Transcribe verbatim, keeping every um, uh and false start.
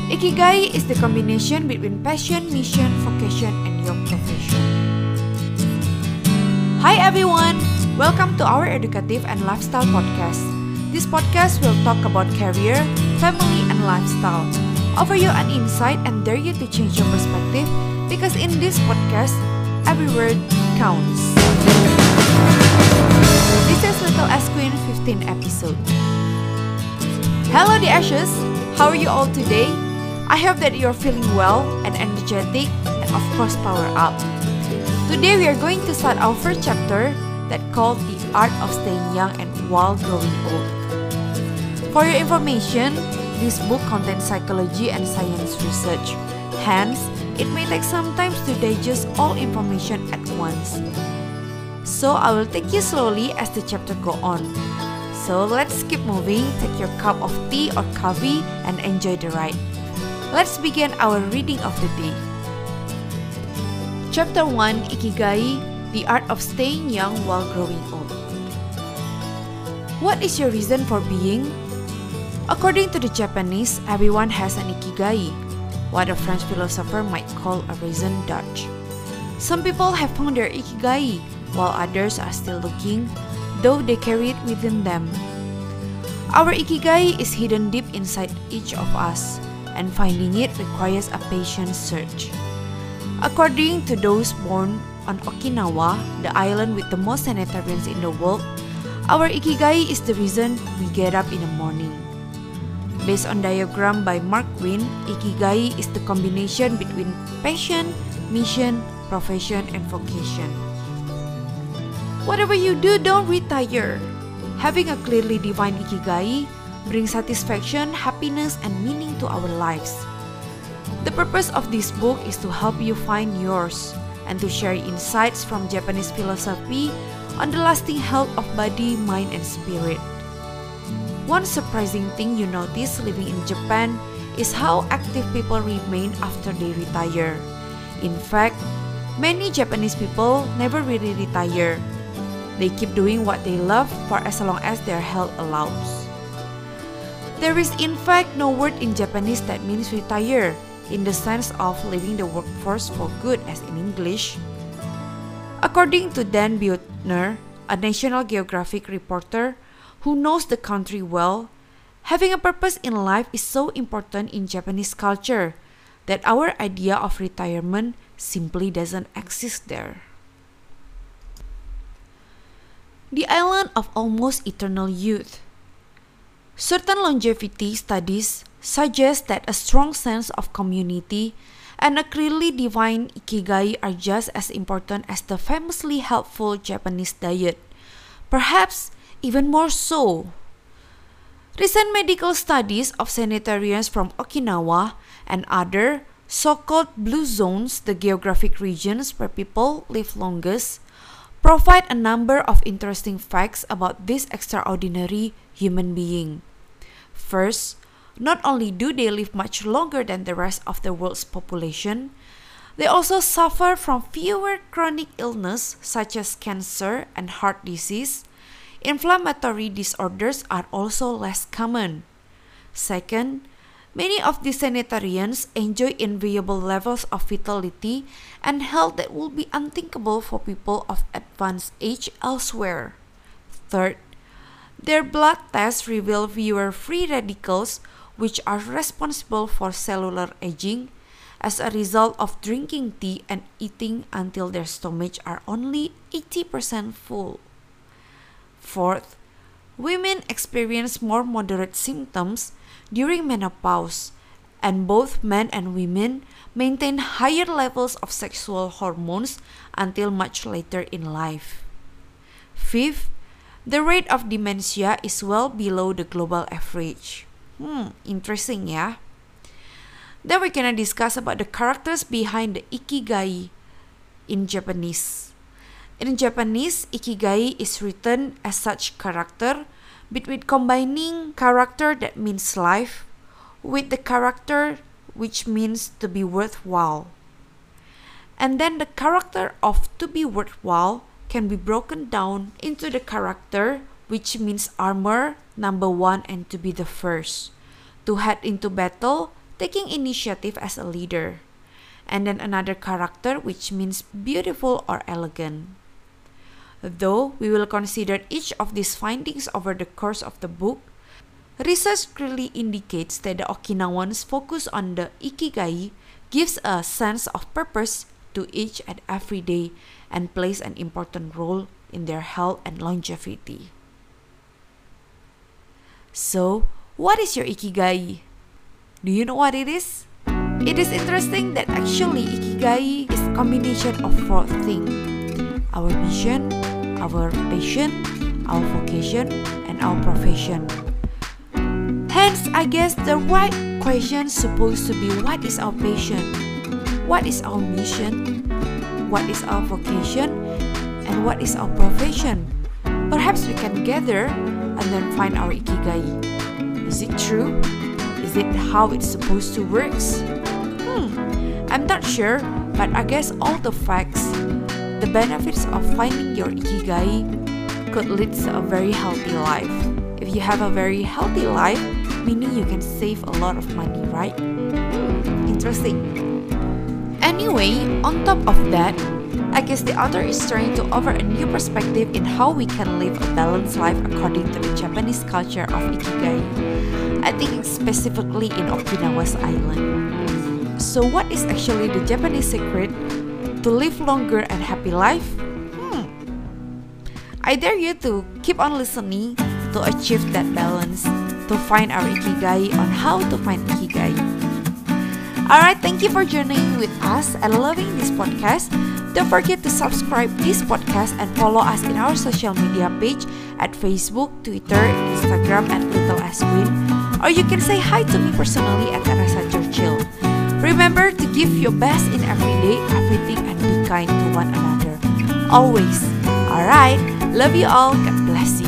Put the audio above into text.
Ikigai is the combination between passion, mission, vocation, and your profession. Hi everyone! Welcome to our educative and lifestyle podcast. This podcast will talk about career, family, and lifestyle. Offer you an insight and dare you to change your perspective because in this podcast, every word counts. This is Little S Queen fifteenth episode. Hello the Ashes! How are you all today? I hope that you're feeling well and energetic and of course power up. Today we are going to start our first chapter that called The Art of Staying Young and While Growing Old. For your information, this book contains psychology and science research. Hence, it may take some time to digest all information at once. So I will take you slowly as the chapter go on. So let's keep moving, take your cup of tea or coffee and enjoy the ride. Let's begin our reading of the day. Chapter one, Ikigai, The Art of Staying Young While Growing Old. What is your reason for being? According to the Japanese, everyone has an Ikigai, what a French philosopher might call a raison d'être. Some people have found their Ikigai, while others are still looking, though they carry it within them. Our Ikigai is hidden deep inside each of us, and finding it requires a patient search. According to those born on Okinawa, the island with the most sanitarians in the world, our Ikigai is the reason we get up in the morning. Based on diagram by Mark Wynn, Ikigai is the combination between passion, mission, profession, and vocation. Whatever you do, don't retire. Having a clearly defined Ikigai brings satisfaction, happiness, and meaning to our lives. The purpose of this book is to help you find yours and to share insights from Japanese philosophy on the lasting health of body, mind, and spirit. One surprising thing you notice living in Japan is how active people remain after they retire. In fact, many Japanese people never really retire. They keep doing what they love for as long as their health allows. There is in fact no word in Japanese that means retire, in the sense of leaving the workforce for good as in English. According to Dan Buettner, a National Geographic reporter who knows the country well, having a purpose in life is so important in Japanese culture that our idea of retirement simply doesn't exist there. The island of almost eternal youth. Certain longevity studies suggest that a strong sense of community and a clearly defined Ikigai are just as important as the famously helpful Japanese diet, perhaps even more so. Recent medical studies of sanitarians from Okinawa and other so-called blue zones, the geographic regions where people live longest, provide a number of interesting facts about this extraordinary human being. First, not only do they live much longer than the rest of the world's population, they also suffer from fewer chronic illnesses such as cancer and heart disease. Inflammatory disorders are also less common. Second, many of these sanitarians enjoy enviable levels of vitality and health that would be unthinkable for people of advanced age elsewhere. Third, their blood tests reveal fewer free radicals, which are responsible for cellular aging, as a result of drinking tea and eating until their stomachs are only eighty percent full. Fourth, women experience more moderate symptoms during menopause, and both men and women maintain higher levels of sexual hormones until much later in life. Fifth, the rate of dementia is well below the global average. Hmm, interesting ya. Then we're gonna discuss about the characters behind the Ikigai in Japanese. In Japanese, Ikigai is written as such character between combining character that means life with the character which means to be worthwhile. And then the character of to be worthwhile can be broken down into the character which means armor, number one, and to be the first, to head into battle, taking initiative as a leader. And then another character which means beautiful or elegant. Though we will consider each of these findings over the course of the book, research clearly indicates that the Okinawans' focus on the ikigai gives a sense of purpose to each and every day and plays an important role in their health and longevity. So, what is your ikigai? Do you know what it is? It is interesting that actually ikigai is a combination of four things: our mission, our passion, our vocation, and our profession. Hence, I guess the right question is supposed to be, what is our passion? What is our mission? What is our vocation? And what is our profession? Perhaps we can gather and then find our ikigai. Is it true? Is it how it's supposed to work? Hmm, I'm not sure, but I guess all the facts, the benefits of finding your ikigai could lead to a very healthy life. If you have a very healthy life, meaning you can save a lot of money, right? Hmm, interesting. Anyway, on top of that, I guess the author is trying to offer a new perspective in how we can live a balanced life according to the Japanese culture of ikigai. I think specifically in Okinawa's island. So what is actually the Japanese secret to live longer and happy life? Hmm. I dare you to keep on listening to achieve that balance, to find our ikigai on how to find ikigai. Alright, thank you for journeying with us and loving this podcast. Don't forget to subscribe this podcast and follow us in our social media page at Facebook, Twitter, Instagram at Little Aswin. Or you can say hi to me personally at Teresa Churchill. Remember to give your best in every day, everything, and be kind to one another. Always. Alright, love you all. God bless you.